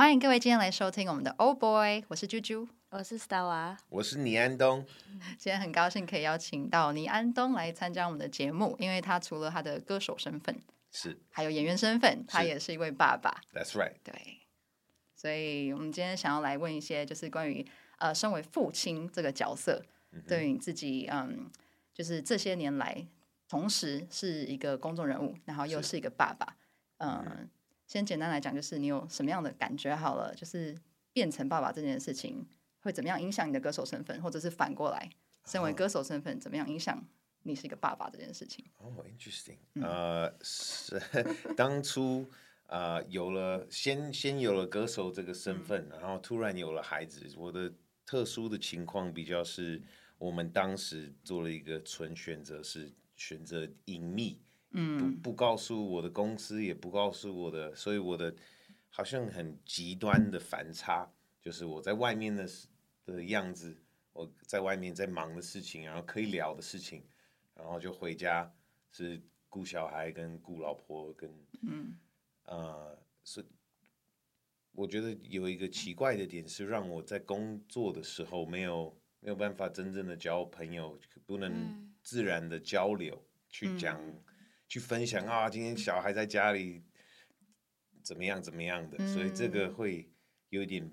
歡迎各位今天來收聽我們的 Oh Boy， 我是啾啾， 我是 Stella， 我是倪安東。 今天很高興可以邀請到倪安東來參加我們的節目，因為他除了他的歌手身份， 是還有演員身份，他也是一位爸爸。 That's right。 對，所以我們今天想要來問一些，就是關於身為父親這個角色，對於你自己，就是這些年來，同時是一個公眾人物，然後又是一個爸爸，先簡單來講，就是你有什麼樣的感覺好了，就是變成爸爸這件事情會怎麼樣影響你的歌手身份，或者是反過來，身為歌手身份怎麼樣影響你是一個爸爸這件事情。 interesting。當初有了先有了歌手這個身份，然後突然有了孩子。我的特殊的情況比較是，我們當時做了一個純選擇，是選擇隱秘。不告訴我的公司，也不告訴我的，所以我的好像很極端的反差，就是我在外面的樣子，我在外面在忙的事情，然後可以聊的事情，然後就回家是顧小孩跟顧老婆跟所以我覺得有一個奇怪的點是，讓我在工作的時候沒有辦法真正的交朋友，不能自然的交流，去講。去分享啊，今天小孩在家裡怎麼樣的，所以這個會有點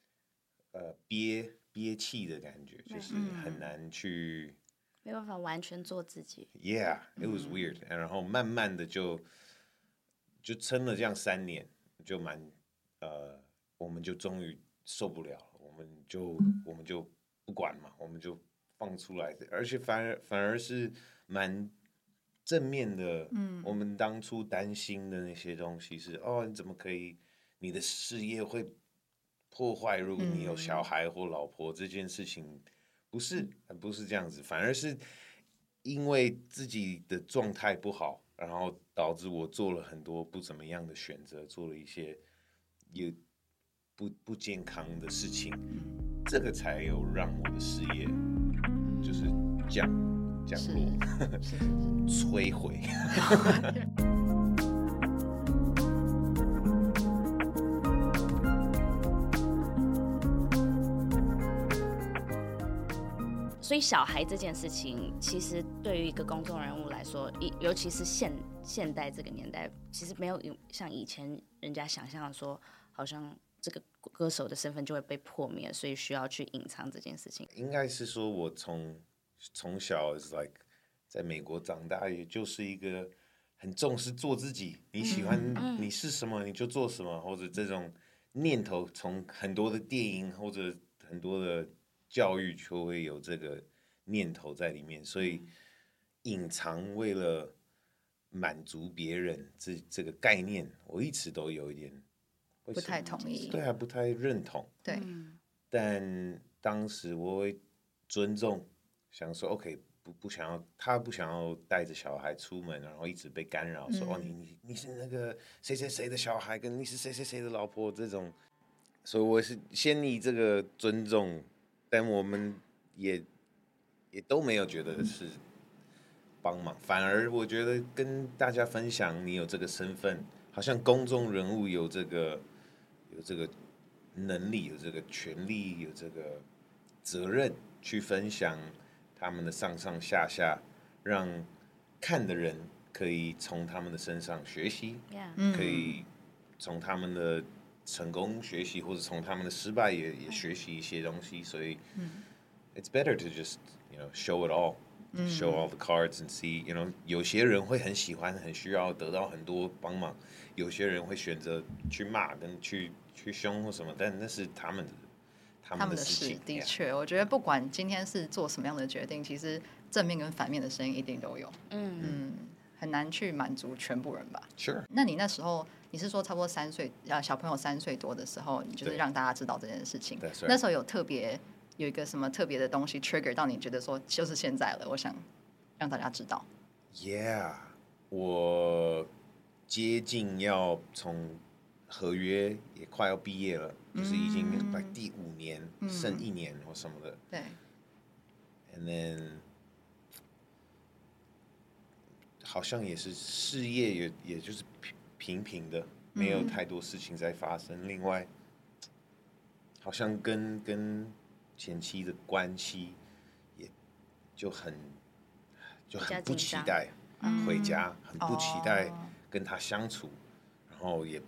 憋氣的感覺，就是很難去沒辦法完全做自己。 Yeah, it was weird。然後慢慢的就撐了這樣3年，就我們就終於受不了了，我們就不管嘛，我們就放出來，而且反而是蠻正面的，我們當初擔心的那些東西是，你怎麼可以，你的事業會破壞，如果你有小孩或老婆，這件事情不是這樣子，反而是因為自己的狀態不好，然後導致我做了很多不怎麼樣的選擇，做了一些也不健康的事情，這個才有讓我的事業就是降落，摧毀。 所以小孩這件事情，其實對於一個公眾人物來說，尤其是現代這個年代，其實沒有像以前人家想象的說，好像這個歌手的身份就會被破滅，所以需要去隱藏這件事情。 應該是說，我從小 is like 在美國長大，也就是一個很重視做自己，你喜歡你是什麼你就做什麼，或者這種念頭，從很多的電影或者很多的教育就會有這個念頭在裡面，所以隱藏為了滿足別人這個概念，我一直都有一點不太同意， 對啊，不太認同， 對， 但當時我會尊重。想說 OK， 他不想要帶着小孩出門，然後一直被干擾，說你是那個誰誰誰的小孩，跟你是誰誰誰的老婆這種，所以我是先以這個尊重，但我們也都沒有覺得是幫忙，反而我覺得跟大家分享你有這個身份，好像公眾人物有這個能力，有這個權利，有這個責任去分享他們的上上下下，讓看的人可以從他們的身上學習，可以從他們的成功學習，或者從他們的失敗也學習一些東西。所以，it's better to just show it all, show all the cards and see. 有些人會很喜歡，很需要得到很多幫忙；有些人會選擇去罵跟去兇或什麼，但那是他們的事情。 的確，我覺得不管今天是做什麼樣的決定，其實正面跟反面的聲音一定都有。很難去滿足全部人吧。 Sure。 那你那時候，你是說差不多3歲，小朋友3歲多的時候，你就是讓大家知道這件事情。那時候有一個什麼特別的東西 trigger 到你覺得說就是現在了，我想讓大家知道。 Yeah， 我接近要從合約也快要畢業了，就是已經第5年，剩1年或什麼的。 對。 And then 好像也是事業也就是平平的，沒有太多事情在發生。另外好像跟前妻的關係也就很不期待回家，很不期待跟他相處，然後也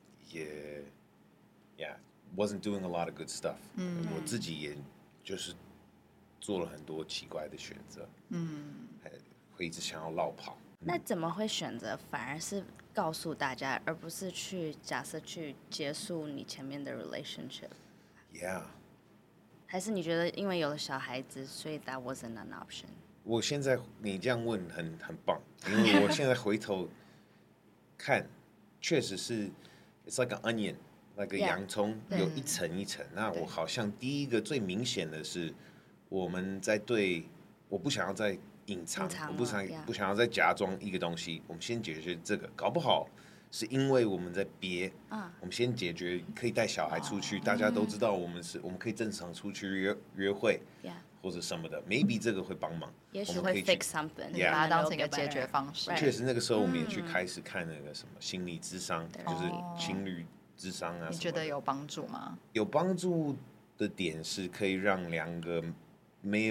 wasn't doing a lot of good stuff。我自己也就是做了很多奇怪的選擇，會一直想要落跑。 那怎麼會選擇反而是告訴大家，而不是假設去結束你前面的 relationship？Yeah。還是你覺得因為有了小孩子，所以 that wasn't an option？ 我現在你這樣問很棒，因為我現在回頭看，確實是 it's like an onion， 那個洋蔥有一層一層。那我好像第一個最明顯的是，我們在我不想要再隱藏，我不想要再假裝一個東西。我們先解決這個，搞不好是因為我們在憋，我們先解決可以帶小孩出去，大家都知道我們可以正常出去約會，或者什麼的 ，maybe 這個會幫忙， 也許會 fix something， 把它當成一個解決方式。 確實，那個時候我們也去開始看那個什麼心理諮商，就是情侶諮商啊。 你覺得有幫助嗎？ 有幫助的點是可以讓兩個沒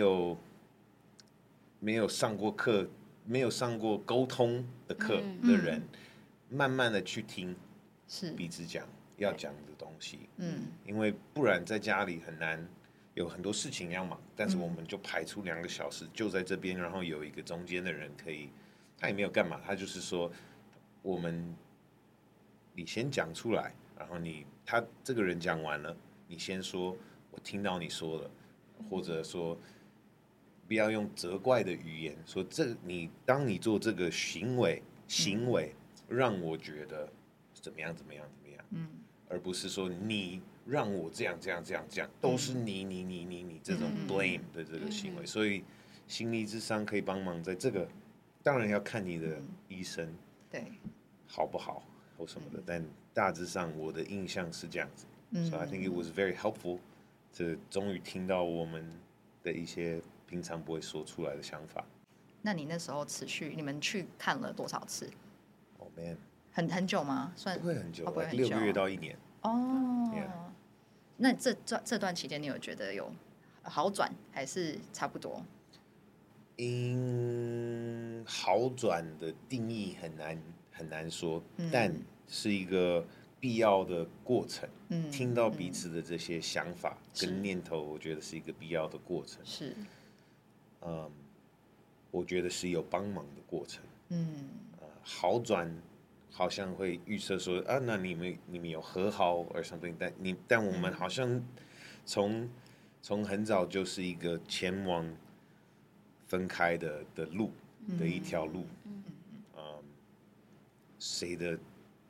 有上過課、沒有上過溝通的課的人，慢慢的去聽彼此要講的東西。因為不然在家裡很難，有很多事情要忙，但是我們就排出2個小時就在這邊，然後有一個中間的人可以，他也沒有幹嘛，他就是說你先講出來，然後他這個人講完了，你先說我聽到你說了，或者說不要用責怪的語言說當你做這個行為讓我覺得怎麼樣，而不是說你讓我這樣，都是你這種 blame 的這個行為。所以心理諮商可以幫忙在這個，當然要看你的醫生好不好或什麼的，但大致上我的印象是這樣子。So I think it was very helpful， 終於聽到我們的一些平常不會說出來的想法。 那你那時候你們去看了多少次？ Oh man， 很久嗎？ 不會很久，6個月到1年。 那這段期間你有覺得有好轉還是差不多？ 好轉的定義很難說，但是一個必要的過程。聽到彼此的這些想法跟念頭，我覺得是一個必要的過程。是，我覺得是有幫忙的過程。好轉好像會預測說那你們有和好 or something， 但我們好像從很早就是一個前往分開的路的一條路。誰的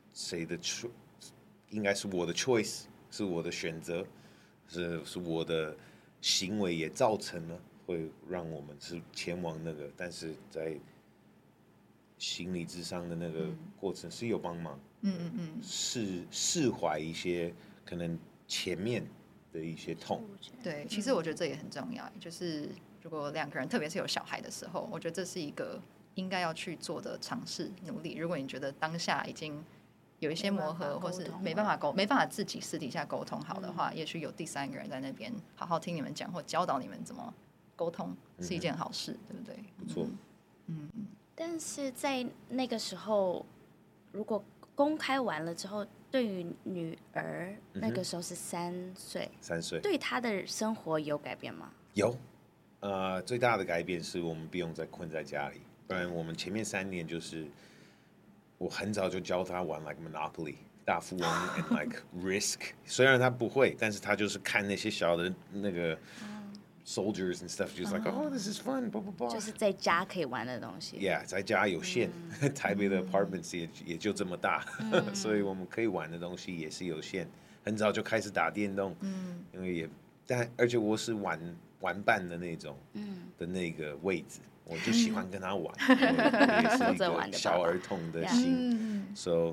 應該是我的 choice， 是我的選擇，是我的行為也造成了會讓我們是前往那個，但是在心理諮商的那個過程是有幫忙，釋懷一些可能前面的一些痛。 對，其實我覺得這也很重要，就是如果兩個人，特別是有小孩的時候，我覺得這是一個應該要去做的嘗試努力。如果你覺得當下已經有一些磨合，或是沒辦法自己私底下溝通好的話，也許有第3個人在那邊好好聽你們講，或教導你們怎麼溝通，是一件好事，對不對？ 不錯。 但是在那個時候，如果公開完了之後，對於女兒那個時候是3歲，3歲，對她的生活有改變嗎？ 有，最大的改變是我們不用再困在家裡，不然我們前面3年就是我很早就教她玩 like Monopoly 大富翁 and like Risk， 雖然她不會，但是她就是看那些小的那個。Soldiers and stuff, just like, oh, this is fun, blah blah blah. 就是在家可以玩的東西。 Yeah， 在家有限，台北的 apartments 也就這麼大，所以我們可以玩的東西也是有限。很早就開始打電動，因為而且我是玩伴的那種，的那個位置，我就喜歡跟他玩，也是一個小兒童的心。So，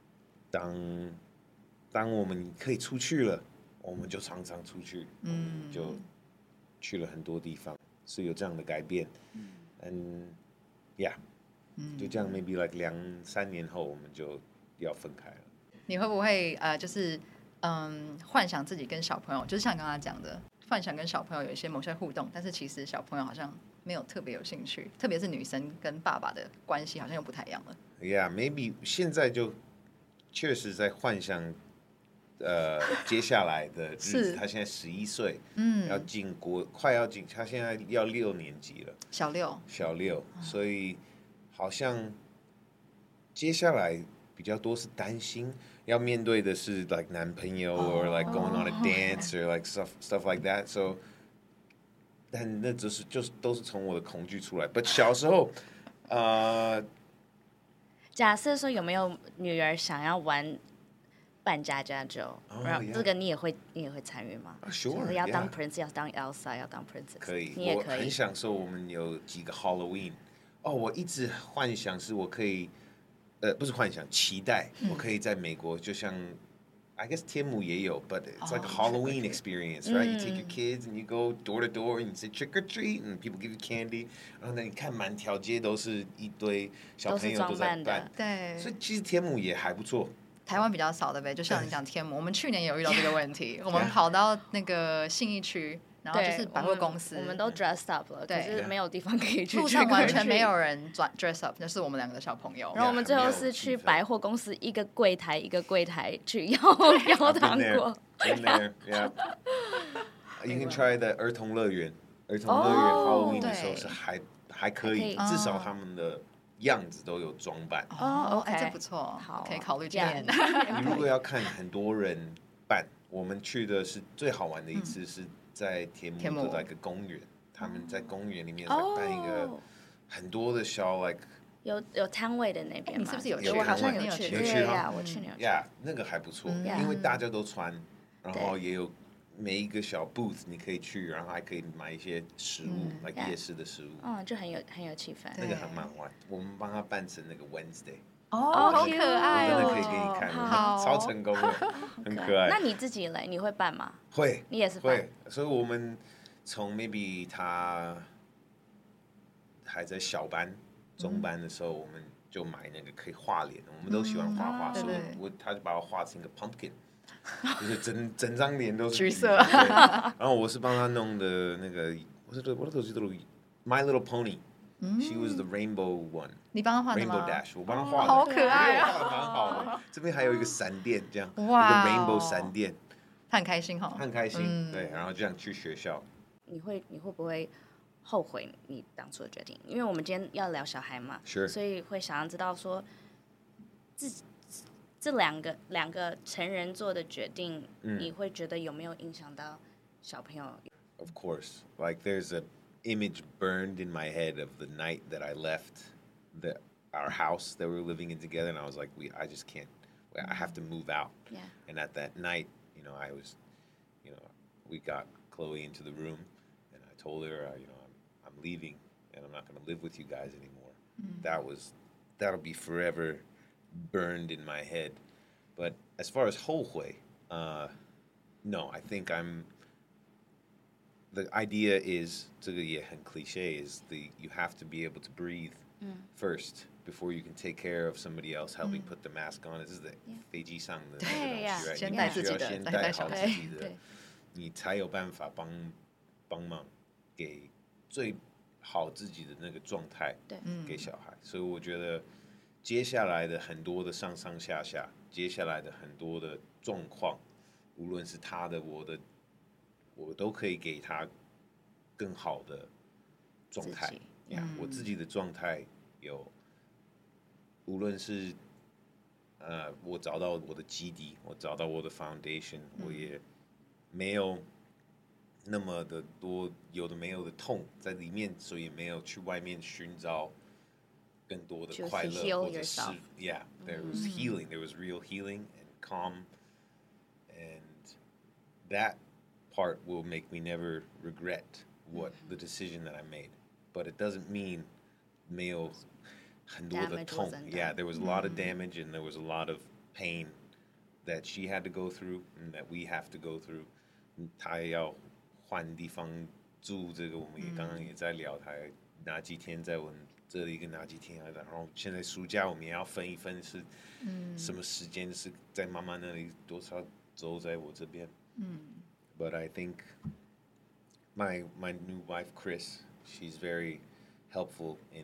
當我們可以出去了，我們就常常出去，就。去了很多地方，是有這樣的改變。就這樣 maybe like 2-3年後我們就要分開了。 你會不會就是幻想自己跟小朋友，就是像剛剛講的，幻想跟小朋友有一些某些互動，但是其實小朋友好像沒有特別有興趣，特別是女生跟爸爸的關係好像又不太一樣了。 Yeah, maybe 現在就確實在幻想，接下來的日子。他現在11歲，要進國，快要進，他現在要6年級了，小六，所以好像接下來比較多是擔心。要面對的是 like 男朋友 or like going on a dance or like stuff like that. So， 但那就是都是從我的恐懼出來。But 小時候， 假設說有沒有女兒想要玩扮家家酒，然後這個你也會參與嗎？Sure， 要當 Prince， 要當 Elsa， 要當 Princess， 可以， 你也可以。 我很享受我們有幾個 Halloween。我一直幻想是我可以。不是幻想，期待我可以在美國，就像 I guess 天母也有 ，but it's like a Halloween experience, right? You take your kids and you go door to door and you say trick or treat, and people give you candy. 然後呢，你看滿條街都是一堆小朋友都在扮， 對， 所以其實天母也還不錯。 台灣比較少的唄，就像你講天母，我們去年也有遇到這個問題，我們跑到那個信義區。然後就是百貨公司， 我們都 dressed up 了，可是沒有地方可以去。 路上完全沒有人 dress up， 就是我們2個小朋友。 然後我們最後是去百貨公司一個櫃台一個櫃台去要糖果。 Yeah. You can try the 兒童樂園，Halloween 的時候是還可以，至少他們的樣子都有裝扮。 這不錯，好，可以考慮這樣。 你如果要看很多人扮，我們去的是最好玩的一次是。在天母的一個公園，他們在公園裡面辦一個很多的小 like 有攤位的那邊， 你是不是有去？ 我好像有去，我去年有去。 那個還不錯，因為大家都穿，然後也有每一個小 booth 你可以去，然後還可以買一些食物，like 夜市的食物， 就很有氣氛。 那個還蠻好玩，我們幫他辦成那個 Wednesday。 好可愛真的可以給你看，超成功的，很可愛。 那你自己嘞？你會辦嗎？ 會， 你也是辦。 會，所以我們從 maybe 他還在小班、中班的時候，我們就買那個可以畫臉的，我們都喜歡畫畫，所以他就把我畫成一個 pumpkin， 就是整張臉都是橘色。然後我是幫他弄的那個，我都是 My Little Pony。She was the rainbow one。 你幫他畫的嗎 ？Rainbow Dash， 我幫他畫的， 好可愛畫的蠻好的。這邊還有一個閃電，這樣一個 rainbow 閃電， 他很開心哈， 很開心。對，然後這樣去學校。 你會不會後悔你當初的決定？因為我們今天要聊小孩嘛，所以會想要知道說，這兩個成人做的決定，你會覺得有沒有影響到小朋友 ？Of course, like there's a image burned in my head of the night that I left our house that we were living in together, and I was like, I just can't. I have to move out. Yeah. And at that night, we got Chloe into the room, and I told her, I'm leaving, and I'm not going to live with you guys anymore. That'll be forever burned in my head. But as far as 後悔, no, I think the idea is, 這個也很 cliche, is you have to be able to breathe first before you can take care of somebody else helping put the mask on. 這是在飛機上的那個東西， right? 你需要先帶好自己的，你才有辦法幫忙給最好自己的那個狀態給小孩。所以我覺得接下來的很多的上上下下，接下來的很多的狀況，無論是他的我的，我都可以給他更好的狀態。我自己的狀態有，無論是我找到我的基底，我找到我的 foundation，我也沒有那麼的多有的沒有的痛在裡面，所以也沒有去外面尋找更多的快樂，或者是 there was healing, there was real healing and calm, and that part will make me never regret the decision that I made. But it doesn't mean 沒有很多的痛。Yeah, there was a lot of damage and there was a lot of pain that she had to go through and that we have to go through. 她要換地方住，這個我們也剛剛也在聊，她哪幾天在我們這裡跟哪幾天，然後現在暑假我們也要分一分是什麼時間是在媽媽那裡，多少周在我這邊。But I think my new wife Chris, she's very helpful in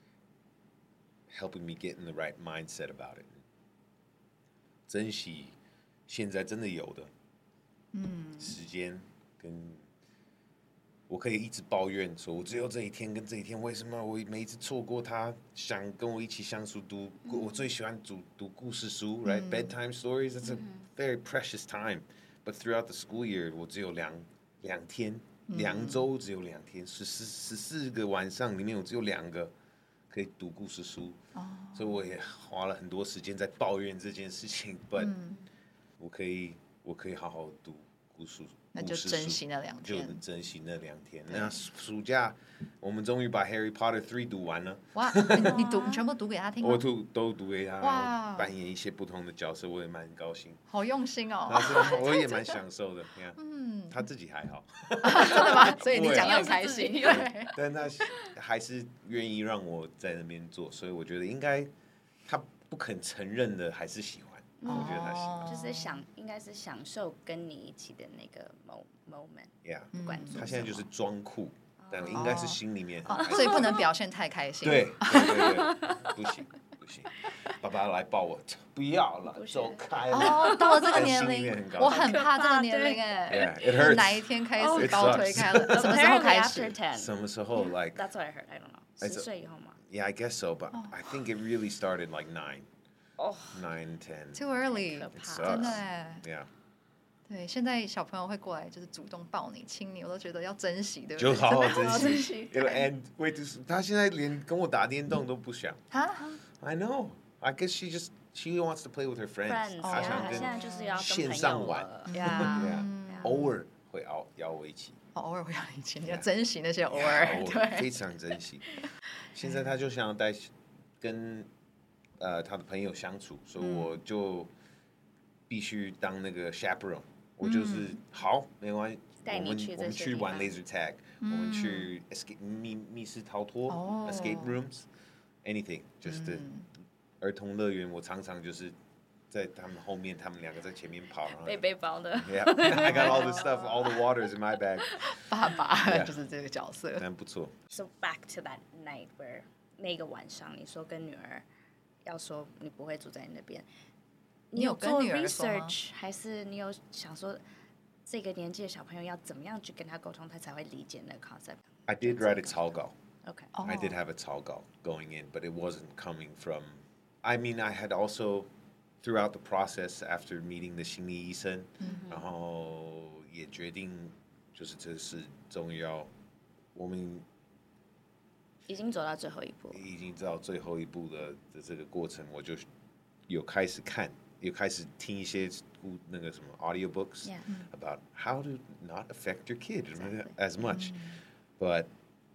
helping me get in the right mindset about it. 珍惜現在真的有的時間，跟我可以一直抱怨說，我只有這一天跟這一天，為什麼我每一次錯過他想跟我一起相處我最喜歡讀故事書，right? Bedtime stories, it's a very precious time. But throughout the school year, 我只有兩天，2周只有2天，14個晚上裡面我只有2個可以讀故事書，所以我也花了很多時間在抱怨這件事情。But 我可以好好讀故事書， 那就珍惜那2天， 就珍惜那2天。那暑假我們終於把《Harry Potter 3》讀完了。 哇，你全部讀給他聽嗎？ 我都讀給他，然後扮演一些不同的角色，我也蠻高興。 好用心哦！ 我也蠻享受的。他自己還好。 真的嗎？所以你講得很開心。 对，但他還是願意讓我在那邊做，所以我覺得應該他不肯承認的還是喜歡。我覺得他喜歡， 就是應該是享受跟你一起的那個 moment。不管他現在就是裝酷，但应该是心裡面所以不能表現太開心。 對，不行。爸爸來抱我，不要了，走開了。 到了這個年齡，我很怕這個年齡哎。是哪一天開始高推開了？什麼時候開始？ 什麼時候 ？Like that's what I heard. I don't know. 10歲以後嗎 ？Yeah, I guess so. But I think it really started like 9, 10. Too early. 真的哎。 Yeah. 对，现在小朋友会過來，就是主動抱你、親你，我都覺得要珍惜，對不對？ 就好好珍惜。And wait, 他現在連跟我打電動都不想。I know. I guess she wants to play with her friends. 她想跟線上玩。偶爾會邀我一起。 偶爾會邀你一起，你要珍惜那些偶爾。對， 非常珍惜。現在他就想要跟他的朋友相處，所以我就必須當那個 chaperone。我就是好，沒關係。我們去玩 laser tag，我們去 escape 密室逃脫 escape rooms，anything， 就是兒童樂園。我常常就是在他們後面，他們2個在前面跑， 背包的。 Yeah, I got all the stuff, all the waters in my bag。 爸爸就是這個角色， 但不錯。 So back to that night where 那個晚上，你說跟女兒要說你不會住在你那邊。你有做 research 還是你有想說這個年紀的小朋友要怎麼樣去跟他溝通，他才會理解那個 concept？ I did write a 草稿。 Okay. I did have a 草稿 going in, but it wasn't coming from. I mean, I had also throughout the process after meeting the 心理醫生，然後也決定就是這是終於要我們已經走到最後一步， 已經到最後一步的這個過程，我就有開始看。也開始聽一些那個什麼 audiobooks about how to not affect your kid as much, but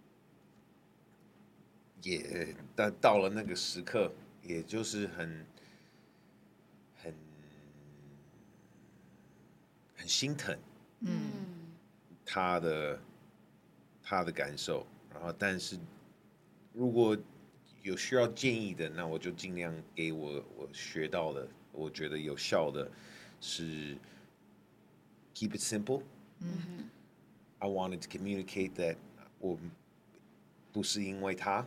也到了那個時刻，也就是很心疼，他的感受，然後但是如果有需要建議的，那我就盡量給我學到的。我覺得有效的是 keep it simple. I wanted to communicate that 我不是因為他，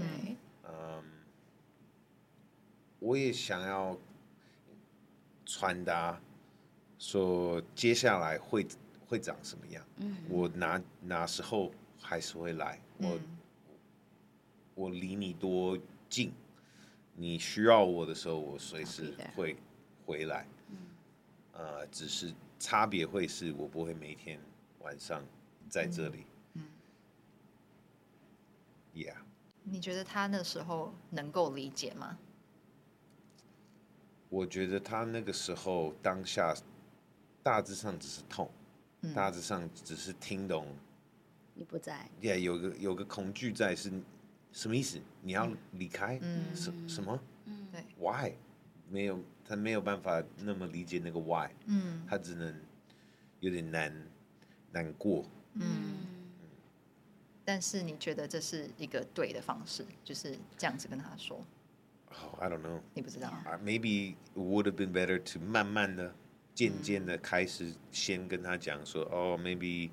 我也想要傳達說接下來會長什麼樣。我哪時候還是會來，我離你多近。你需要我的時候，我隨時會回來。只是差別會是我不會每天晚上在這裡。Yeah。 你覺得他那時候能夠理解嗎？ 我覺得他那個時候當下大致上只是痛，大致上只是聽懂你不在。 Yeah， 有個恐懼在是。什麼意思？你要離開？什麼？ 對 Why？ 他沒有辦法那麼理解那個 why。他只能有點難過。 但是你覺得這是一個對的方式，就是這樣子跟他說？ I don't know。 你不知道？ Maybe it would have been better to 慢慢的漸漸的開始先跟他講說，哦 ，maybe，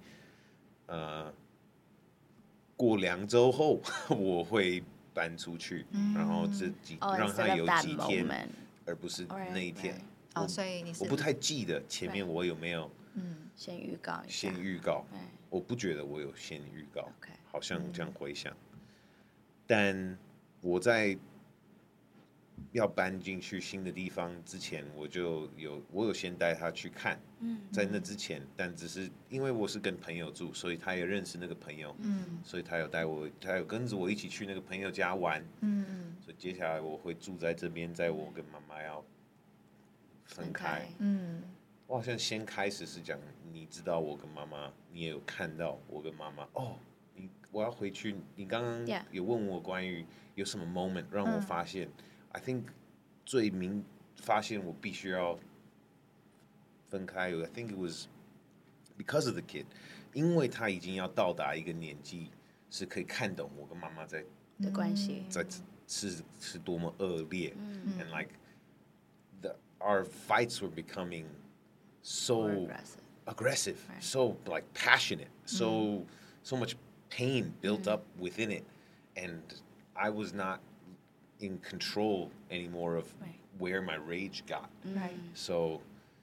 過2週後我會搬出去，然後讓他有幾天，而不是那一天。 所以你是我不太記得前面我有沒有先預告一下。 先預告，我不覺得我有先預告，好像這樣回想。但我在要搬進去新的地方之前，我有先帶他去看，在那之前，但只是因為我是跟朋友住，所以他也認識那個朋友，所以他有跟着我一起去那個朋友家玩，所以接下來我會住在這邊，在我跟媽媽要分開，我好像先開始是講，你知道我跟媽媽，你也有看到我跟媽媽，我要回去，你剛剛有問我關於有什麼 moment 讓我發現。I think 發現我必須要分開。I think it was because of the kid， 因為他已經要到達一個年紀，是可以看懂我跟媽媽在的關係， 是多麼惡劣。And like our fights were becoming so aggressive, so like passionate, so much pain built up within it, and I was not in control anymore of where my rage got. So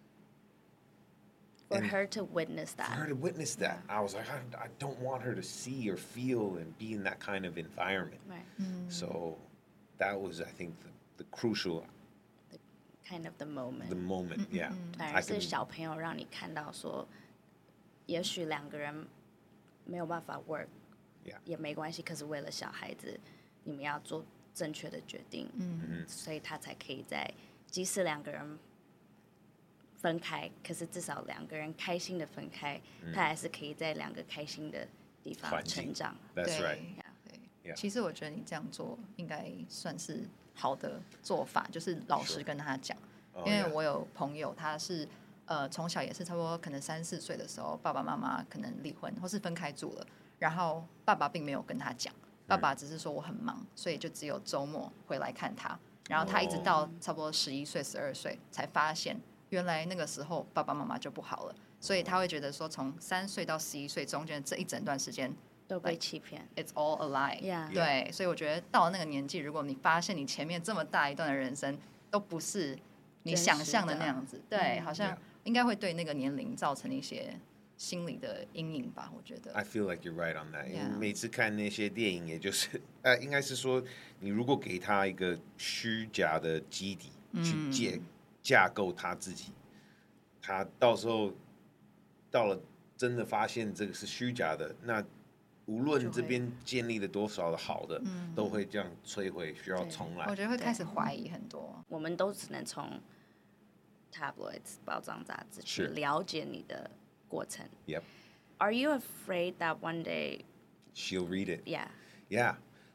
for her to witness that, I was like, I don't want her to see or feel and be in that kind of environment. So that was, I think, the crucial kind of the moment. The moment, yeah. 反而是小朋友讓你看到說，也許2個人沒有辦法 work， 也沒關係，可是為了小孩子，你們要做正確的決定，所以他才可以在即使2個人分開，可是至少2個人開心的分開，他還是可以在2個開心的地方成長。 That's right. 對，其實我覺得你這樣做應該算是好的做法，就是老實跟他講，因為我有朋友他是從小也是差不多可能3、4歲的時候，爸爸媽媽可能離婚或是分開住了，然後爸爸並沒有跟他講。爸爸只是說我很忙，所以就只有周末回來看他。然後他一直到差不多11歲、12歲才發現，原來那個時候爸爸媽媽就不好了。所以他會覺得說，從3歲到11歲中間這一整段時間都被欺騙 ，It's all a lie。對，所以我覺得到了那個年紀，如果你發現你前面這麼大一段的人生都不是你想象的那樣子，對，好像應該會對那個年齡造成一些心理的陰影吧，我覺得。 I feel like you're right on that. 每次看那些電影，也就是應該是說，你如果給他一個虛假的基底，去架構他自己，他到時候到了真的發現這個是虛假的，那無論這邊建立了多少的好的，都會這樣摧毀，需要重來。 我覺得會開始懷疑很多。 我們都只能從 tabloids 報章雜誌去了解你的過程。 Yep. Are you afraid that one day she'll read it? Yeah. Yeah.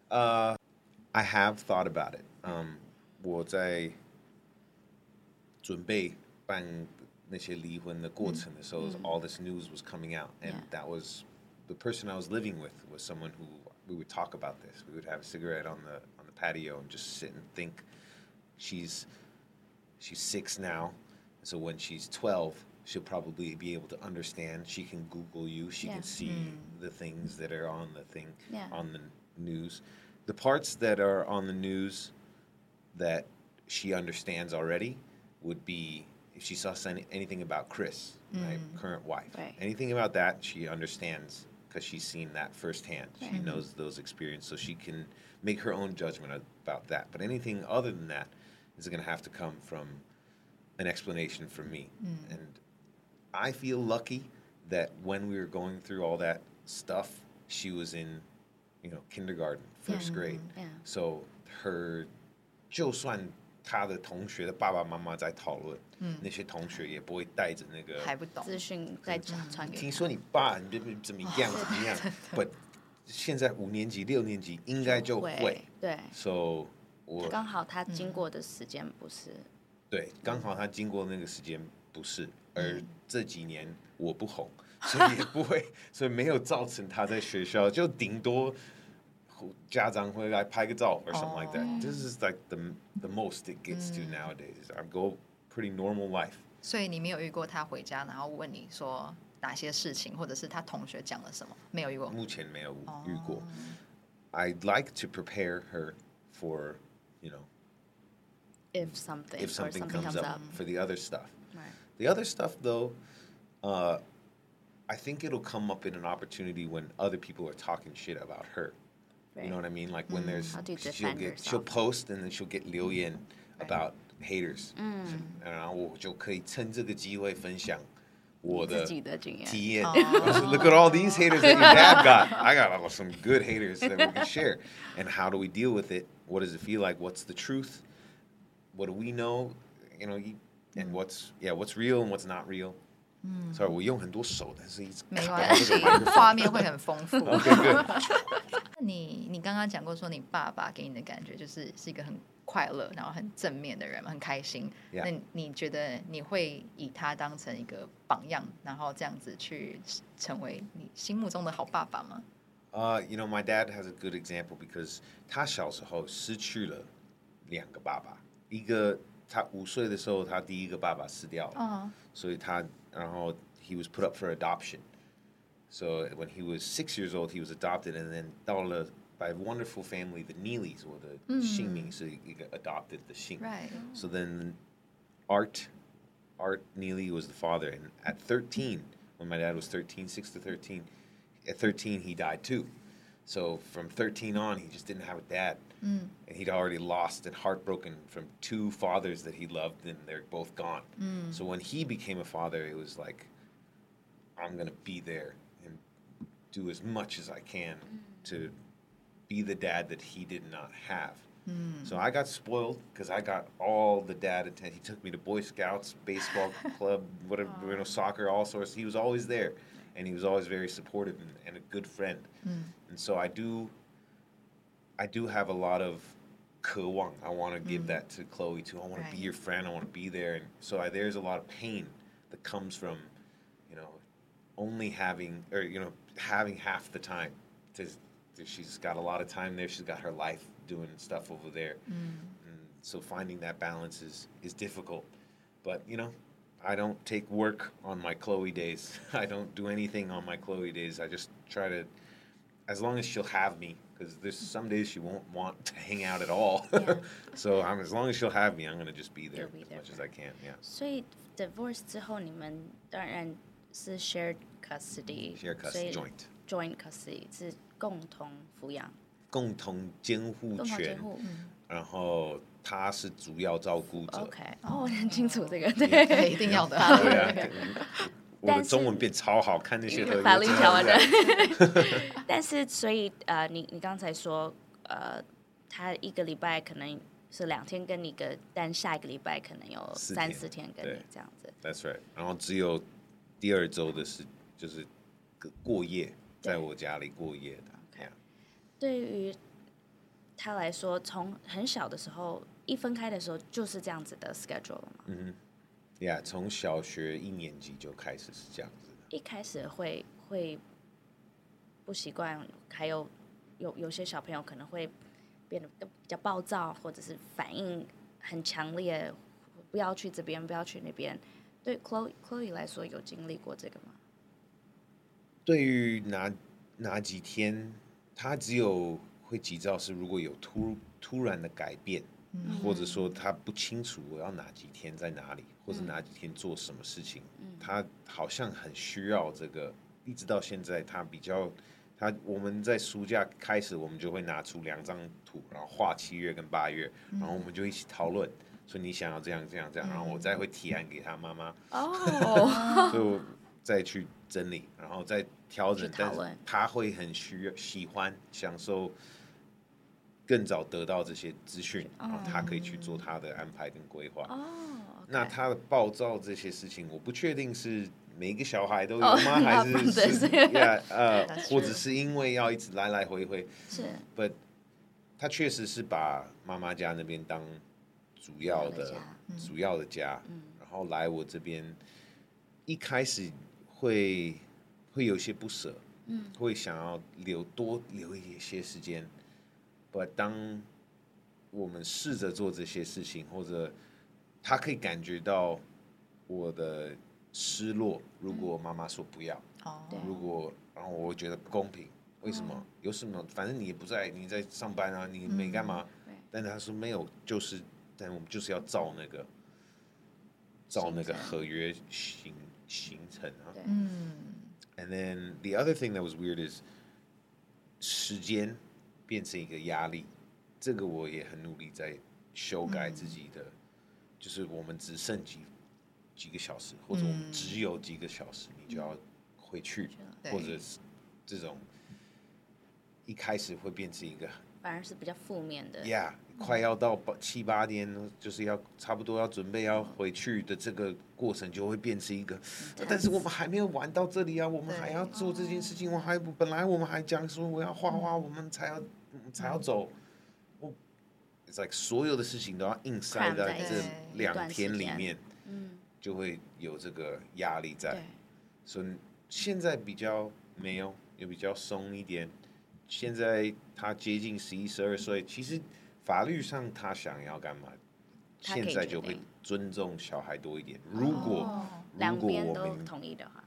I have thought about it. 我在準備辦那些離婚的過程的時候，all this news was coming out, and that was the person I was living with was someone who we would talk about this. We would have a cigarette on the patio and just sit and think. She's 6 now, so when she's 12. She'll probably be able to understand. She can Google you. She can see the things that are on the thing, on the news. The parts that are on the news that she understands already would be if she saw anything about Chris, my current wife. Right. Anything about that, she understands because she's seen that firsthand. She knows those experiences, so she can make her own judgment about that. But anything other than that is going to have to come from an explanation from me. And I feel lucky that when we were going through all that stuff, she was in, kindergarten, first grade. So her, 就算她的同學的爸爸媽媽在討論，那些同學也不會帶着那個還不懂資訊再傳給他。 聽說你爸你怎麼樣怎麼樣，But 現在5年級、6年級應該就會。 對。 So 剛好他經過的時間不是。 對，剛好他經過那個時間不是。而這幾年我不紅，所以也不會，所以沒有造成他在學校就頂多家長會來拍個照 or something like that. This is like the most it gets to nowadays. I go pretty normal life. 所以你沒有遇過他回家然後問你說哪些事情，或者是他同學講了什麼？沒有遇過。 目前沒有遇過。I'd like to prepare her for, you know, if something comes up for the other stuff. Right. The other stuff, though, I think it'll come up in an opportunity when other people are talking shit about her. Right. You know what I mean? Like when there's she'll post and then she'll get 留言 about haters. 然后我就可以趁这個機會分享我的體驗. So look at all these haters that your dad got. I got some good haters that we can share. And how do we deal with it? What does it feel like? What's the truth? What do we know? You know, and what's real and what's not real? Sorry, 我用很多手，但是一直沒關係，畫面會很豐富。你剛剛講過說你爸爸給你的感覺就是一個很快樂，然後很正面的人，很開心。那你覺得你會以他當成一個榜樣，然後這樣子去成為你心目中的好爸爸嗎 ？You know, my dad has a good example because 他小時候失去了2個爸爸，一個他5歲的時候，他第一個爸爸死掉了，所以然後 he was put up for adoption. So when he was 6 years old, he was adopted, and then 到了 by a wonderful family, the Neelys, 我的姓名是一個 adopted 的姓。 Right. So then Art Neely was the father, and at 13, when my dad was 13, 6 to 13, at 13 he died too. So from 13 on, he just didn't have a dad. And he'd already lost and heartbroken from 2 fathers that he loved, and they're both gone. So when he became a father, it was like, I'm going to be there and do as much as I can to be the dad that he did not have. So I got spoiled because I got all the dad attention. He took me to Boy Scouts, baseball club, whatever, you know, soccer, all sorts. He was always there, and he was always very supportive and a good friend. And so I do have a lot of 渴望. I want to give that to Chloe too. I want to be your friend. I want to be there. And so there's a lot of pain that comes from, you know, only having half the time. She's got a lot of time there. She's got her life doing stuff over there. And so finding that balance is difficult. But, you know, I don't take work on my Chloe days. I don't do anything on my Chloe days. I just try to, as long as she'll have me, because there's some days she won't want to hang out at all. So as long as she'll have me, I'm going to just be there as much as I can. Yeah. 所以 divorce 之後，你們當然是 shared custody. Shared custody, joint custody 是共同撫養。 共同監護權。然後他是主要照顧者。 OK， 我很清楚這個，對， 一定要的。 對啊。我的中文變超好，看那些法律條文的。但是，所以你剛才說，他一個禮拜可能是2天跟你個，但下一個禮拜可能有3、4天跟你這樣子。 That's right。然後只有第2週的是就是過夜，在我家裡過夜的。 Okay. 對於他來說，從很小的時候，一分開的時候就是這樣子的 schedule 了嘛。 Yeah， 從小學1年級就開始是這樣子。 一開始會不習慣，還有些小朋友可能會變得比較暴躁，或者是反應很強烈，不要去這邊，不要去那邊。對 Chloe 來說，有經歷過這個嗎？ 對於哪幾天，他只有會急躁是如果有突然的改變。或者說他不清楚我要哪幾天在哪裡，或者哪幾天做什麼事情，他好像很需要這個，一直到現在我們在暑假開始，我們就會拿出2張圖，然後畫7月跟8月，然後我們就一起討論，說你想要這樣這樣這樣，然後我再會提案給他媽媽，所以我再去整理，然後再調整，但是他會很喜歡享受。更早得到這些資訊，然後他可以去做他的安排跟規劃。那他的暴躁這些事情，我不確定是每一個小孩都有嗎？還是或者是因為要一直來來回回。是。But 他確實是把媽媽家那邊當主要的家，然後來我這邊，一開始會有些不捨，會想要多留一些時間。當我們試着做這些事情，或者他可以感覺到我的失落，如果媽媽說不要，然後我会覺得不公平，為什麼？有什麼？反正你也不在，你在上班啊，你沒幹嘛。但是他說沒有，但我們就是要照那個合約形成啊。And then the other thing that was weird is 時間變成一個壓力，這個我也很努力在修改自己的，就是我們只剩幾個小時，或者我們只有幾個小時，你就要回去，或者是這種一開始會變成一個反而是比較負面的。 快要到7、8點，就是要差不多要準備要回去的這個過程，就會變成一個。但是我們還沒有玩到這裡啊，我們還要做這件事情。本來我們還講說我要畫畫，我們才要走。It's like 所有的事情都要硬塞在這2天裡面，就會有這個壓力在。所以現在比較沒有，也比較鬆一點。現在他接近11、12歲，其實法律上他想要幹嘛，現在就會尊重小孩多一點。如果兩邊都同意的話，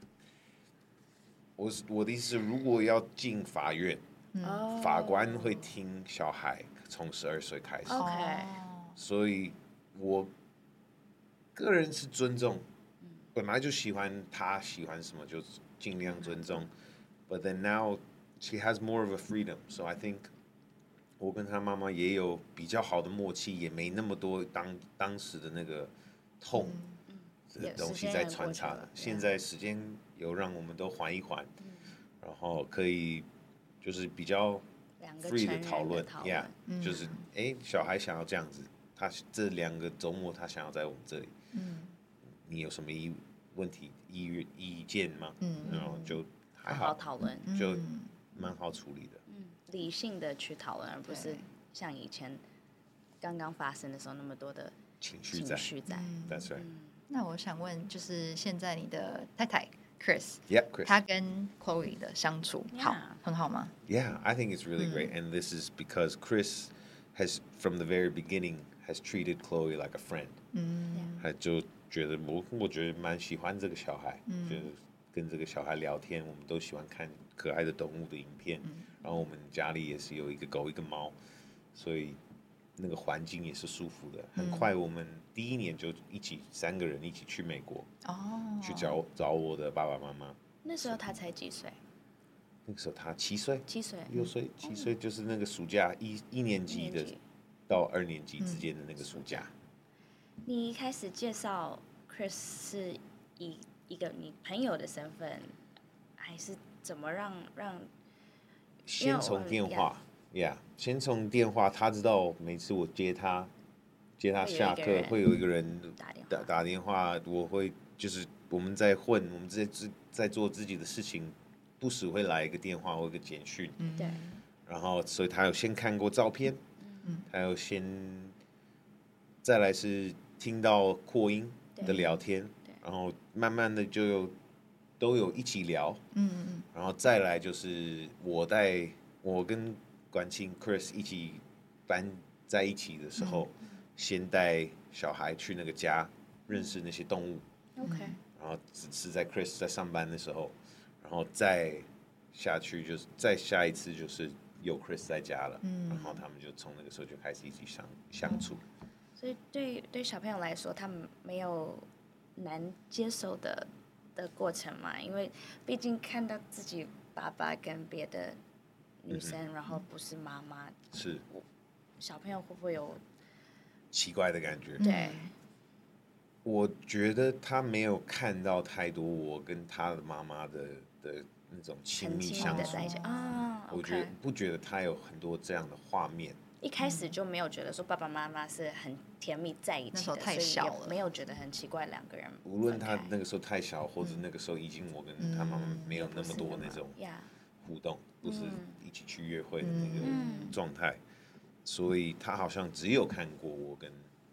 我的意思是，如果要進法院，法官會聽小孩從12歲開始。所以我個人是尊重，本來就喜歡他喜歡什麼就盡量尊重。But then now she has more of a freedom, so I think 我跟他媽媽也有比較好的默契，也沒那麼多當時的那個痛的東西在穿插了。現在時間有讓我們都緩一緩，然後可以就是比較 free 的討論就是小孩想要這樣子，他這2個週末他想要在我們這裡，你有什麼問題意見嗎？然後就還好討論，就蠻好處理的。 理性的去討論，而不是像以前剛剛發生的時候那麼多的情緒在。 That's right. 那我想問，就是現在你的太太 Chris， 她跟 Chloe 的相處很好嗎？ Yeah, I think it's really great, and this is because Chris has from the very beginning has treated Chloe like a friend. 他就覺得我覺得蠻喜歡這個小孩，就是跟這個小孩聊天，我們都喜歡看可愛的動物的影片。然後我們家裡也是有一個狗一個貓，所以那個環境也是舒服的。很快我們第1年就3個人一起去美國，去找我的爸爸媽媽。 那時候他才幾歲？ 那個時候他7歲、6歲、7歲，就是那個暑假一年級的到2年級之間的那個暑假。 你一開始介紹 Chris 是以一個你朋友的身份，還是怎麼讓？ 先從電話，先從電話，他知道每次我接他下課會有一個人打電話，我會就是我們在混，我們在做自己的事情，不時會來一個電話或一個簡訊，然後所以他有先看過照片，他有先再來是聽到擴音的聊天，然後慢慢的都有一起聊，然後再來就是我跟管清 Chris 一起搬在一起的時候，先帶小孩去那個家認識那些動物，然後是在 Chris 在上班的時候，然後再下去就是再下一次就是有 Chris 在家了，然後他们就從那個時候就開始一起相處。 所以對小朋友來說，他們沒有難接受的過程嘛，因為畢竟看到自己爸爸跟別的女生，然後不是媽媽， 是小朋友會不會有奇怪的感覺？ 對， 我覺得他沒有看到太多我跟他的媽媽的那種親密相處我不覺得他有很多這樣的畫面。 一開始就沒有覺得說爸爸媽媽是很甜蜜在一起的， 那時候太小了， 沒有覺得很奇怪2個人。 無論他那個時候太小，或者那個時候已經我跟他媽媽沒有那麼多那種互動，不是一起去約會的那個狀態，所以他好像只有看過我跟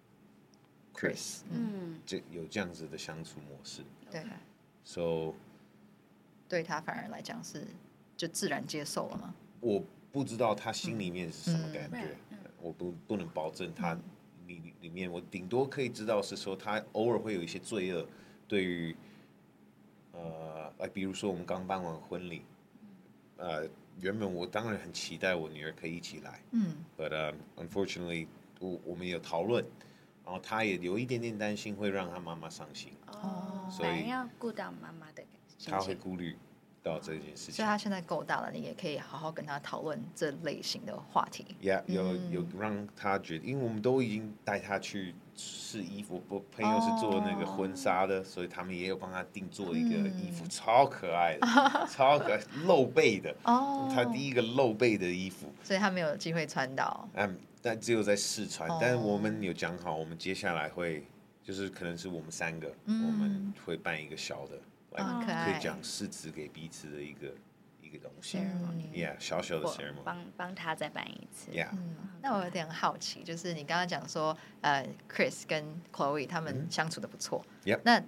Chris， 就有這樣子的相處模式。 對 ，so 對他反而來講是就自然接受了嗎？ 我不知道他心裡面是什麼感覺，我不能保證他裡面，我頂多可以知道是說他偶爾會有一些罪惡， 對於比如說我們剛辦完婚禮，原本我當然很期待我女兒可以一起來，but unfortunately 我們有討論，然後她也有一點點擔心會讓她媽媽傷心，所以要顧到媽媽的心情， 她會顧慮到這件事情。 所以她現在夠大了，你也可以好好跟她討論這類型的話題。 有讓她覺得，因為我們都已經帶她去試衣服，我朋友是做那個婚紗的，所以他們也有幫她定做一個衣服，超可愛的，超可愛，露背的，她第一個露背的衣服， 所以她沒有機會穿到。 但只有在試穿，但是我們有講好，我們接下來會就是可能是我們3個，我們会辦一個小的，可以講誓詞給彼此的一個東西小小的 ceremony， 幫他再辦一次。 那我有點好奇，就是你剛剛講說，Chris 跟 Chloe 他們相處的不錯，那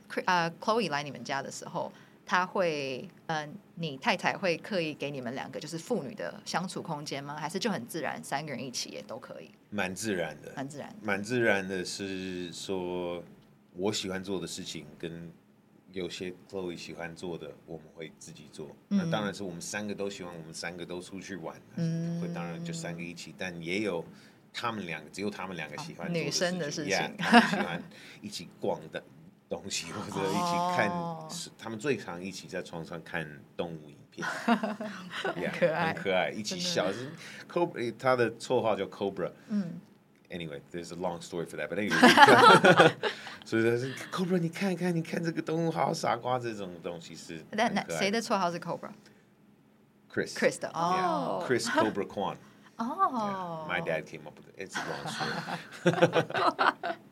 Chloe 來你們家的時候，他會你太太會刻意給你們2個就是父女的相處空間嗎？還是就很自然3個人一起也都可以？ 蠻自然的，蠻自然的是說，我喜歡做的事情跟有些 Chloe 喜歡做的，我们会自己做。那当然是我们3個都喜歡，我們3個都出去玩，會當然就3個一起，但也有他們2個，只有他們2個喜歡做女生的事情， 他們喜歡一起逛的東西，或者一起看，他們最常一起在床上看動物影片，很可愛，一起笑。Cobra 他的綽號叫 Cobra。Anyway, there's a long story for that, but anyway. 所以他是 Cobra， 你看這個動物好傻瓜，這種東西是。那誰的綽號是 Cobra？ Chris 的 Chris Cobra Kwan。My dad came up with it. It's a long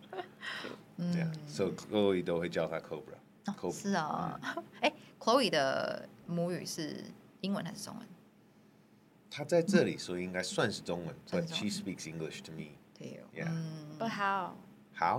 story. So Chloe 都會叫他 Cobra。 是啊，Chloe 的母語是英文還是中文？ 他在這裡，所以應該算是中文，but she speaks English to me. Yeah. But how? How?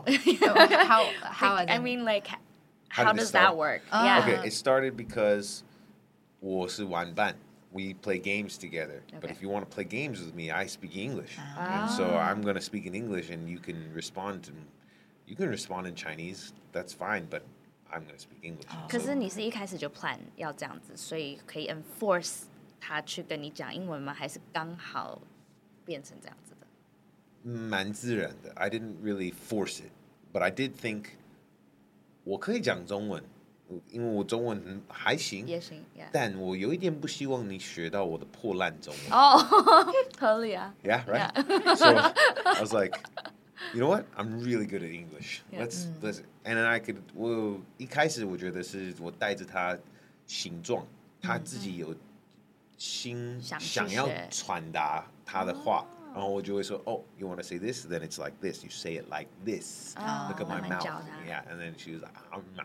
I mean, like, how does that work? Yeah. Okay, it started because 我是玩伴. We play games together. But if you want to play games with me, I speak English. And so I'm going to speak in English, and you can respond in Chinese. That's fine, but I'm going to speak English. 可是你是一開始就 plan 要這樣子，所以可以 enforce 他去跟你講英文嗎？還是剛好變成這樣子的？ 蠻自然的。I didn't really force it, but I did think 我可以講中文，因為我中文還行， 也行， 但我有一點不希望你學到我的破爛中文。 合理啊。 Yeah, right. So I was like, you know what? I'm really good at English. Let's, and then I could. 我一開始我覺得是我帶着他形狀，他自己有心想要傳達他的話。然後我就會說 ，Oh, you want to say this? Then it's like this. You say it like this. Look at my mouth. Yeah, and then she was like,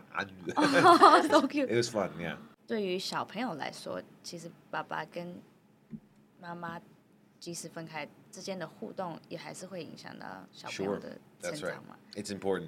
so cute. It was fun, yeah. 對於小朋友來說，其實爸爸跟媽媽即使分開之間的互動，也還是會影響到小朋友的成長嘛。 It's important.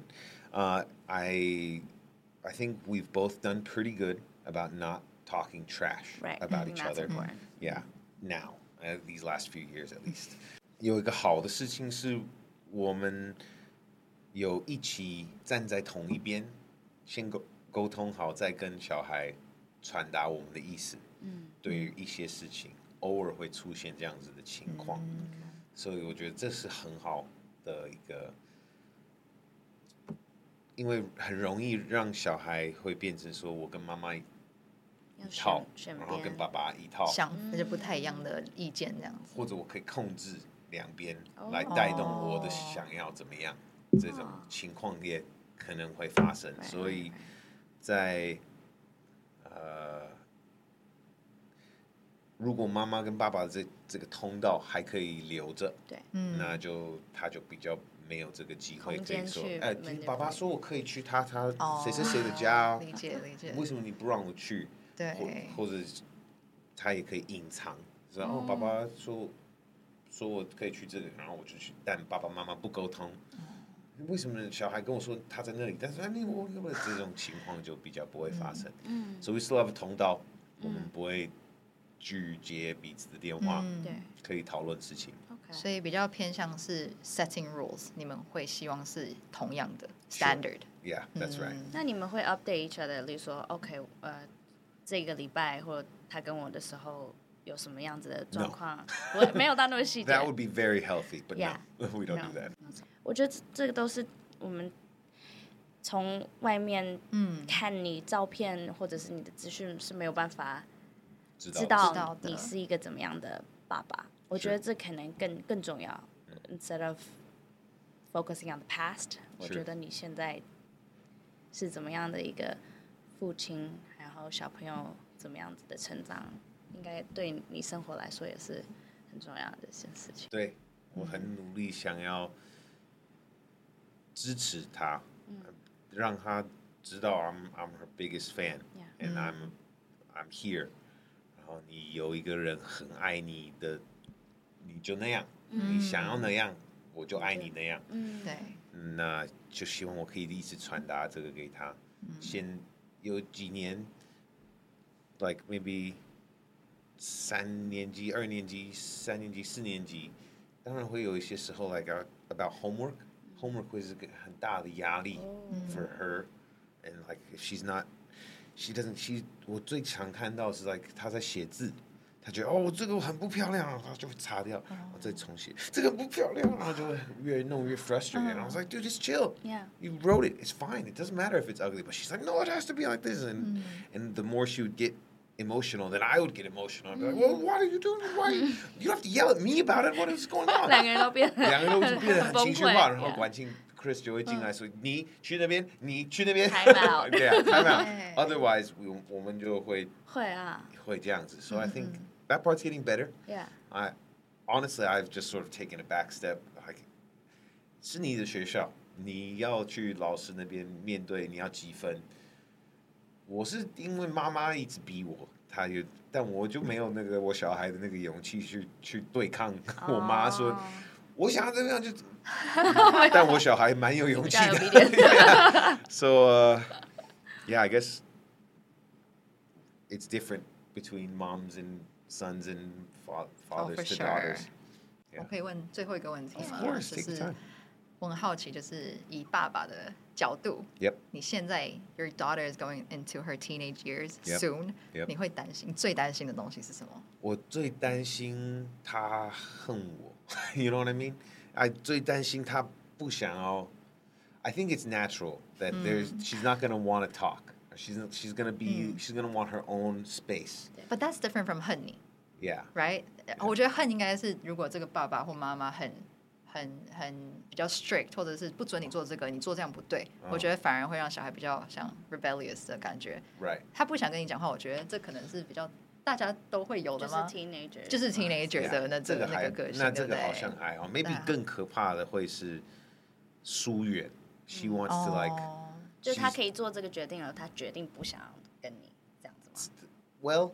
I think we've both done pretty good about not talking trash about each other. Yeah, now, these last few years at least. 有一個好的事情是，我們有一起站在同一邊，先溝通好，再跟小孩傳達我們的意思。對於一些事情，偶爾會出現這樣子的情況，所以我覺得這是很好的一個，因為很容易讓小孩會變成說我跟媽媽一套，然後跟爸爸一套， 那就不太一樣的意見這樣子， 或者我可以控制2邊來帶動我的想要怎麼樣，這種情況也可能會發生，所以在如果媽媽跟爸爸這個通道還可以留着，那他就比較沒有這個機會可以說，爸爸說我可以去他誰是誰的家， 理解， 為什麼你不讓我去？對，或者他也可以隱藏，然後爸爸說我可以去這個，然後我就去，但爸爸媽媽不溝通，為什麼小孩跟我說他在那裡，但是我這種情況就比較不會發生。所以 we still have a 通道，我們不會拒接彼此的電話，可以討論事情。所以比較偏向是 setting rules， 你們會希望是同樣的 standard。 Yeah, that's right. 那你們會 update each other，例如說 OK，這個禮拜或他跟我的時候有什麼樣子的狀況？我沒有到那麼細節。 That would be very healthy, but Yeah. no, we don't do that. 我覺得這個都是我們從外面看你照片或者是你的資訊是沒有辦法知道你是一個怎麼樣的爸爸。我覺得這可能更重要。Instead of focusing on the past， 我覺得你現在是怎麼樣的一個父親，然後小朋友怎麼樣子的成長，應該對你生活來說也是很重要的一件事情。 對，我很努力想要支持他，讓他知道 I'm her biggest fan, and I'm here。然後你有一個人很愛你的，你就那樣，你想要那樣，我就愛你那樣。 对， 那就希望我可以一直傳達這個給他。先有幾年 ，like maybe 3年級、2年級、3年級、4年級，當然會有一些時候 like about homework 會是個很大的壓力 for her, and like if she's not, she 我最常看到是 like 她在寫字。他覺得哦，這個很不漂亮，然後就會擦掉，然後再重寫。這個不漂亮，然後就會越弄越 frustrated. And I was like, dude, just chill. Yeah. You wrote it. It's fine. It doesn't matter if it's ugly. But she's like, no, it has to be like this. And the more she would get emotional, then I would get emotional. I'd be like, well, what are you doing? Why? You don't have to yell at me about it. What is going on? 兩個人都變得很情緒化，然後管慶 Chris 就會進來說，你去那邊，你去那邊。 Time out. Yeah, time out. Otherwise, 我們就會這樣子。So I think that part's getting better. Yeah. Honestly, I've just sort of taken a back step. Like, 是你的學校，你要去老師那邊面對，你要幾分？我是因為媽媽一直逼我，但我就沒有那個我小孩的那個勇氣去對抗我媽說，我想要這樣就，但我小孩蠻有勇氣的。So, yeah, I guess it's different between moms and sons and fathers to daughters. 我可以問最後一個問題嗎？ Of course, 就 take your 是 time. 我很好奇，就是以爸爸的角度， Yep. 你現在 your daughter is going into her teenage years soon. Yep. 你會擔心最擔心的東西是什麼？ 我最擔心他恨我，You know what I mean? 最擔心他不想要。I think it's natural that she's not gonna want to talk. She's gonna want her own space. But that's different from 恨你。 Yeah. Right? 我覺得恨應該是如果這個爸爸或媽媽很比較 strict， 或者是不准你做這個，你做這樣不對。我覺得反而會讓小孩比較像 rebellious 的感覺。 Right. 他不想跟你講話，我覺得這可能是比較大家都會有的嗎？就是 teenager 的那個個性。 那這個好像還好。Maybe 更可怕的會是疏遠。She wants to like. 就是他可以做這個決定了，他決定不想跟你這樣子嗎 ？Well.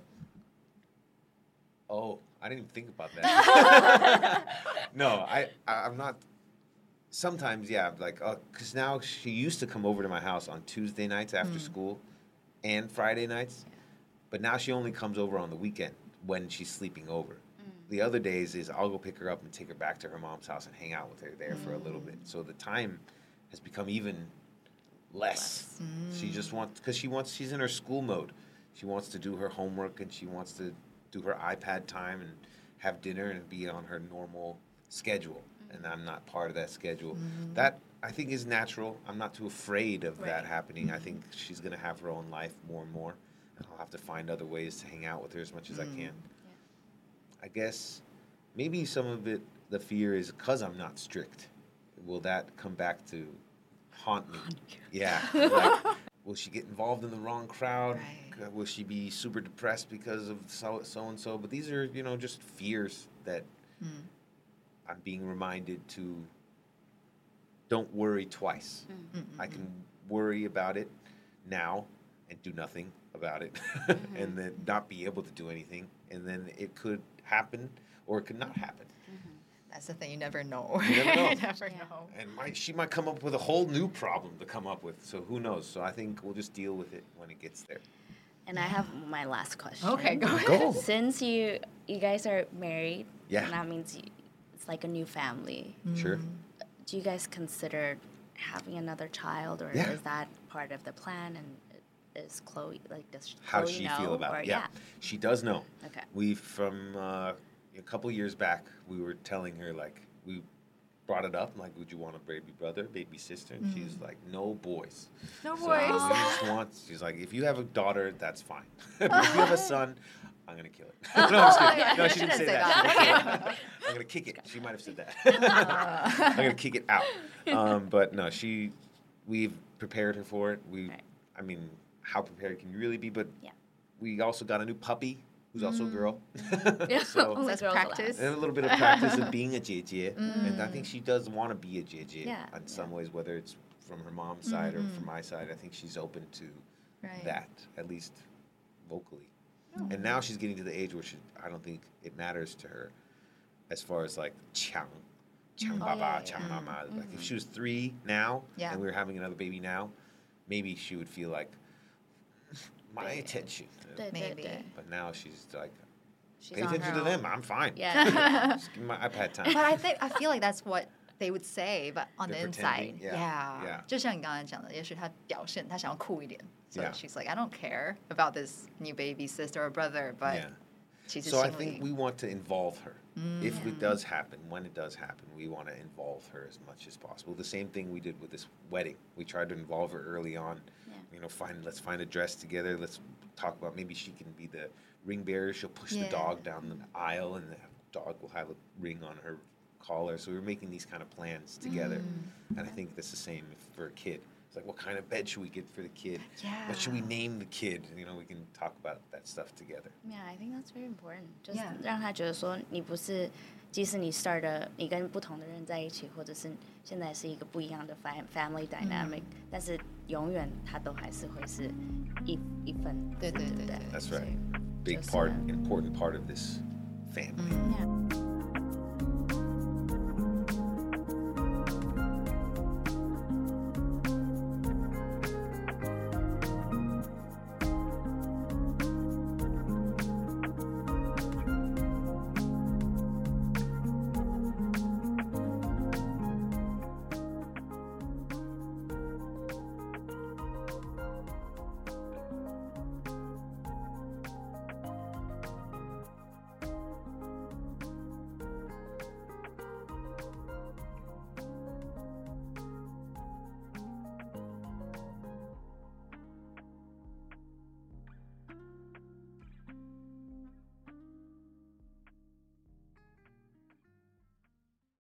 Oh, I didn't even think about that. No, I'm not. Sometimes, yeah, like, because now she used to come over to my house on Tuesday nights after school and Friday nights, but now she only comes over on the weekend when she's sleeping over. The other days is I'll go pick her up and take her back to her mom's house and hang out with her there for a little bit. So the time has become even less. She just wants, because she's in her school mode. She wants to do her homework and she wants to do her iPad time and have dinner and be on her normal schedule. And I'm not part of that schedule. That, I think, is natural. I'm not too afraid of that happening. I think she's going to have her own life more and more. And I'll have to find other ways to hang out with her as much as I can. I guess maybe some of it, the fear is because I'm not strict. Will that come back to haunt me? Yeah. Like, will she get involved in the wrong crowd? Right. Will she be super depressed because of so-and-so? But these are, just fears that I'm being reminded to don't worry twice. I can worry about it now and do nothing about it and then not be able to do anything. And then it could happen or it could not happen. That's the thing, you never know. You never know. You never know. And she might come up with a whole new problem to come up with. So who knows? So I think we'll just deal with it when it gets there. And I have my last question. Okay, go ahead. Since you guys are married, yeah, and that means it's like a new family. Sure. Do you guys consider having another child, or Yeah. is that part of the plan? And is Chloe does How Chloe she know? feel about or, it? Yeah, she does know. Okay. We from a couple years back, we were telling her like we brought it up like, would you want a baby brother, baby sister? And she's like, no boys. No So boys. we just want. She's like, if you have a daughter, that's fine. If you have a son, I'm gonna kill it. No, I'm just kidding. yeah, No, you she didn't shouldn't say say that. I'm gonna kick it. She might have said that. I'm gonna kick it out. But no, we've prepared her for it. Right. I mean, how prepared can you really be? But Yeah. we also got a new puppy who's also a girl. Yeah, So only that's girls practice. and a little bit of practice of being a JJ. And I think she does want to be a JJ Yeah, in some ways, whether it's from her mom's side or from my side. I think she's open to Right. that, at least vocally. And now she's getting to the age where I don't think it matters to her as far as like Chang Baba, yeah, Chang Mama. Like if she was 3 now Yeah. and we were having another baby now, maybe she would feel like my attention. Maybe. But now she's like, She's pay on attention her to them. own. I'm fine. Yeah. Just give me my iPad time. But I feel like that's what they would say, but on They're the inside, pretending, yeah, yeah. 就像你刚才讲的，也许他表现他想要酷一点，so Yeah. she's like, I don't care about this new baby sister or brother, but Yeah. 其實 So I 心 think 裡 we want to involve her. If it does happen, when it does happen, we want to involve her as much as possible. The same thing we did with this wedding. We tried to involve her early on. Yeah. You know, let's find a dress together. Let's talk about maybe she can be the ring bearer. She'll push the Yeah. dog down the aisle, and the dog will have a ring on her collar. So we were making these kind of plans together. And I think that's the same for a kid. It's like, what kind of bed should we get for the kid? What should we Yeah. name the kid? You know, we can talk about that stuff together. Yeah, I think that's very important. 就是 Yeah. 让他觉得说，你不是，即使你 start 的，你跟不同的人在一起，或者是现在是一个不一样的 family dynamic，但是永遠他都還是會是一份， 對對對對 That's right. So, Big just, part, important part of this family. Yeah.